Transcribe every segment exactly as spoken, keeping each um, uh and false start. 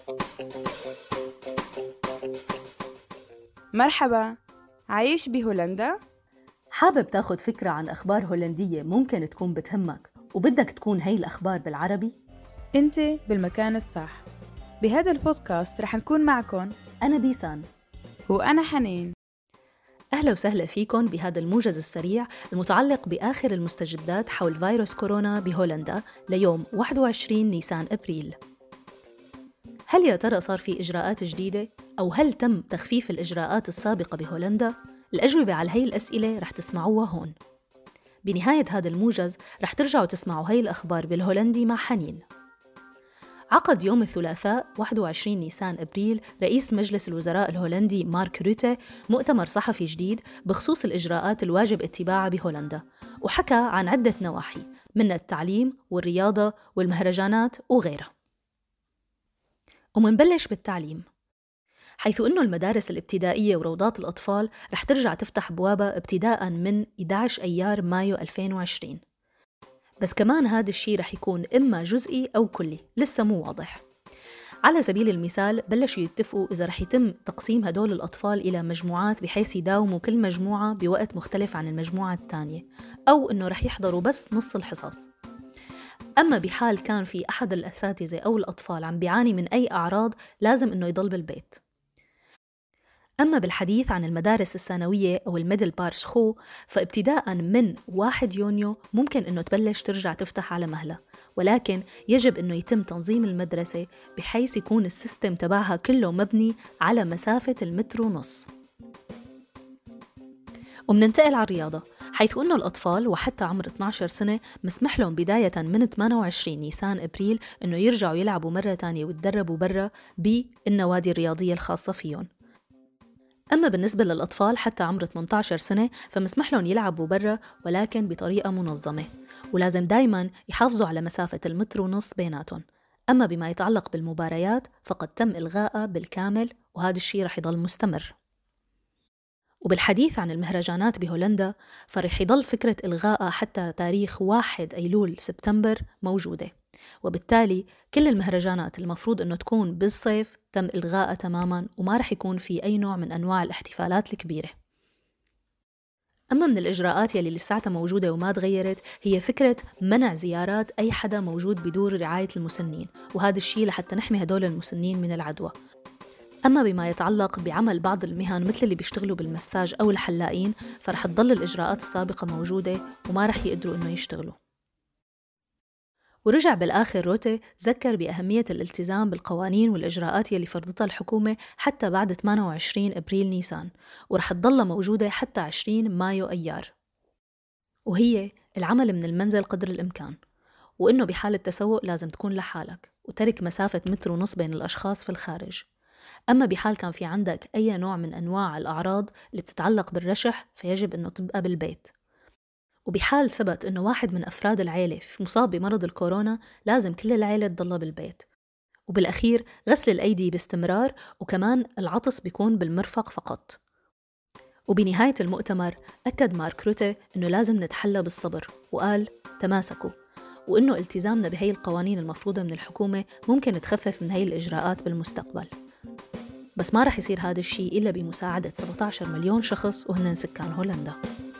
مرحبا، عايش بهولندا؟ حابب تاخد فكرة عن أخبار هولندية ممكن تكون بتهمك وبدك تكون هاي الأخبار بالعربي؟ انت بالمكان الصح. بهذا البودكاست رح نكون معكم أنا بيسان وأنا حنين. أهلا وسهلا فيكم بهذا الموجز السريع المتعلق بآخر المستجدات حول فيروس كورونا بهولندا ليوم واحد وعشرين نيسان أبريل. هل يا ترى صار في إجراءات جديدة؟ أو هل تم تخفيف الإجراءات السابقة بهولندا؟ الأجوبة على هاي الأسئلة رح تسمعوها هون. بنهاية هذا الموجز رح ترجعوا تسمعوا هاي الأخبار بالهولندي مع حنين. عقد يوم الثلاثاء واحد وعشرين نيسان أبريل رئيس مجلس الوزراء الهولندي مارك روتي مؤتمر صحفي جديد بخصوص الإجراءات الواجب اتباعها بهولندا، وحكى عن عدة نواحي من التعليم والرياضة والمهرجانات وغيرها. ومنبلش بالتعليم، حيث أنه المدارس الابتدائية وروضات الأطفال رح ترجع تفتح بوابها ابتداء من إحدى عشر أيار مايو ألفين وعشرين، بس كمان هذا الشيء رح يكون إما جزئي أو كلي، لسه مو واضح. على سبيل المثال بلشوا يتفقوا إذا رح يتم تقسيم هدول الأطفال إلى مجموعات بحيث يداوموا كل مجموعة بوقت مختلف عن المجموعة الثانية، أو إنه رح يحضروا بس نص الحصص. أما بحال كان في أحد الأساتذة أو الأطفال عم بيعاني من أي أعراض لازم إنه يضل بالبيت. أما بالحديث عن المدارس الثانوية أو الميدل بار سخو، فابتداء من واحد يونيو ممكن إنه تبلش ترجع تفتح على مهلة، ولكن يجب إنه يتم تنظيم المدرسة بحيث يكون السيستم تبعها كله مبني على مسافة المتر ونص. ومننتقل على الرياضة، حيث أنه الأطفال وحتى عمر اثني عشر سنة مسمح لهم بداية من ثمانية وعشرين نيسان أبريل إنه يرجعوا يلعبوا مرة تانية ويتدربوا برا بالنوادي الرياضية الخاصة فيهم. أما بالنسبة للأطفال حتى عمر ثمانية عشر سنة فمسمح لهم يلعبوا برا، ولكن بطريقة منظمة، ولازم دايماً يحافظوا على مسافة المتر ونص بيناتهم. أما بما يتعلق بالمباريات فقد تم إلغائها بالكامل، وهذا الشيء رح يضل مستمر. وبالحديث عن المهرجانات بهولندا فرح يضل فكرة إلغائها حتى تاريخ واحد أيلول سبتمبر موجودة، وبالتالي كل المهرجانات المفروض أنه تكون بالصيف تم إلغائها تماماً، وما رح يكون في أي نوع من أنواع الاحتفالات الكبيرة. أما من الإجراءات يلي لساتها موجودة وما تغيرت هي فكرة منع زيارات أي حدا موجود بدور رعاية المسنين، وهذا الشيء لحتى نحمي هدول المسنين من العدوى. أما بما يتعلق بعمل بعض المهن مثل اللي بيشتغلوا بالمساج أو الحلاقين فرح تضل الإجراءات السابقة موجودة وما رح يقدروا إنه يشتغلوا. ورجع بالآخر روتي ذكر بأهمية الالتزام بالقوانين والإجراءات يلي فرضتها الحكومة حتى بعد ثمانية وعشرين أبريل نيسان، ورح تضل موجودة حتى عشرين مايو أيار، وهي العمل من المنزل قدر الإمكان، وإنه بحالة تسوق لازم تكون لحالك وترك مسافة متر ونص بين الأشخاص في الخارج. أما بحال كان في عندك أي نوع من أنواع الأعراض اللي بتتعلق بالرشح فيجب أنه تبقى بالبيت. وبحال ثبت أنه واحد من أفراد العيلة مصاب بمرض الكورونا لازم كل العيلة تضل بالبيت. وبالأخير غسل الأيدي باستمرار، وكمان العطس بيكون بالمرفق فقط. وبنهاية المؤتمر أكد مارك روتي أنه لازم نتحلى بالصبر، وقال تماسكوا، وأنه التزامنا بهي القوانين المفروضة من الحكومة ممكن تخفف من هي الإجراءات بالمستقبل، بس ما رح يصير هذا الشيء إلا بمساعدة سبعة عشر مليون شخص وهن سكان هولندا.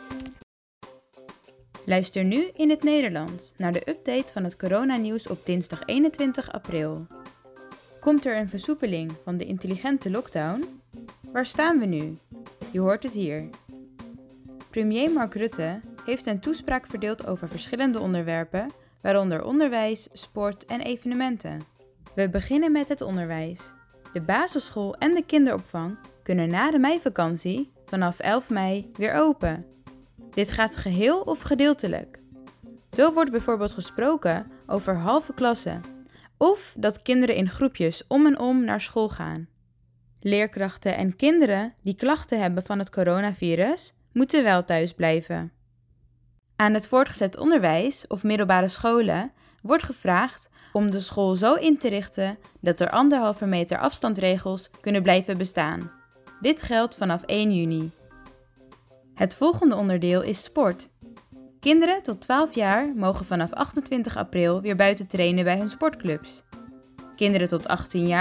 Luister nu in het Nederlands naar de update van het coronanieuws op dinsdag eenentwintig april. Komt er een versoepeling van de intelligente lockdown? Waar staan we nu? Je hoort het hier. Premier Mark Rutte heeft zijn toespraak verdeeld over verschillende onderwerpen, waaronder onderwijs, sport en evenementen. We beginnen met het onderwijs. De basisschool en de kinderopvang kunnen na de meivakantie vanaf elf mei weer open. Dit gaat geheel of gedeeltelijk. Zo wordt bijvoorbeeld gesproken over halve klassen of dat kinderen in groepjes om en om naar school gaan. Leerkrachten en kinderen die klachten hebben van het coronavirus moeten wel thuis blijven. Aan het voortgezet onderwijs of middelbare scholen wordt gevraagd om de school zo in te richten dat er anderhalve meter afstandregels kunnen blijven bestaan. Dit geldt vanaf één juni. Het volgende onderdeel is sport. Kinderen tot twaalf jaar mogen vanaf achtentwintig april weer buiten trainen bij hun sportclubs. Kinderen tot achttien jaar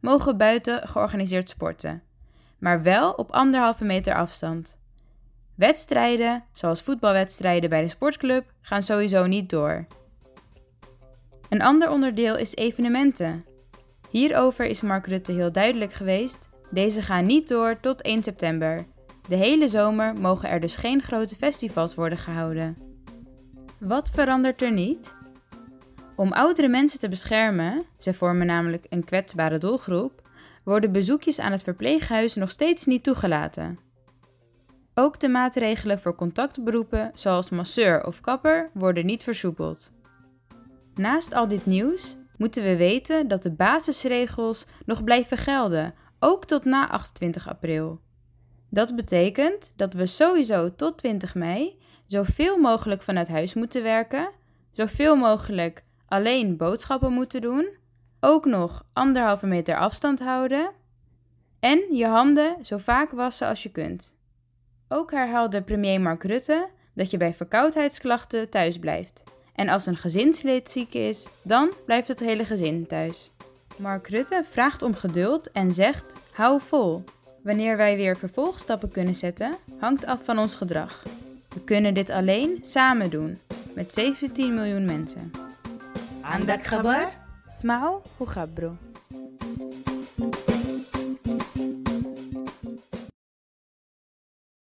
mogen buiten georganiseerd sporten, maar wel op anderhalve meter afstand. Wedstrijden, zoals voetbalwedstrijden bij de sportclub, gaan sowieso niet door. Een ander onderdeel is evenementen. Hierover is Mark Rutte heel duidelijk geweest. Deze gaan niet door tot één september. De hele zomer mogen er dus geen grote festivals worden gehouden. Wat verandert er niet? Om oudere mensen te beschermen, ze vormen namelijk een kwetsbare doelgroep, worden bezoekjes aan het verpleeghuis nog steeds niet toegelaten. Ook de maatregelen voor contactberoepen zoals masseur of kapper worden niet versoepeld. Naast al dit nieuws moeten we weten dat de basisregels nog blijven gelden, ook tot na achtentwintig april. Dat betekent dat we sowieso tot twintig mei zoveel mogelijk vanuit huis moeten werken, zoveel mogelijk alleen boodschappen moeten doen, ook nog anderhalve meter afstand houden en je handen zo vaak wassen als je kunt. Ook herhaalde premier Mark Rutte dat je bij verkoudheidsklachten thuis blijft. En als een gezinslid ziek is, dan blijft het hele gezin thuis. Mark Rutte vraagt om geduld en zegt: hou vol. Wanneer wij weer vervolgstappen kunnen zetten, hangt af van ons gedrag. We kunnen dit alleen samen doen, met zeventien miljoen mensen. عندك خبر؟ اسمعوا وخبروا.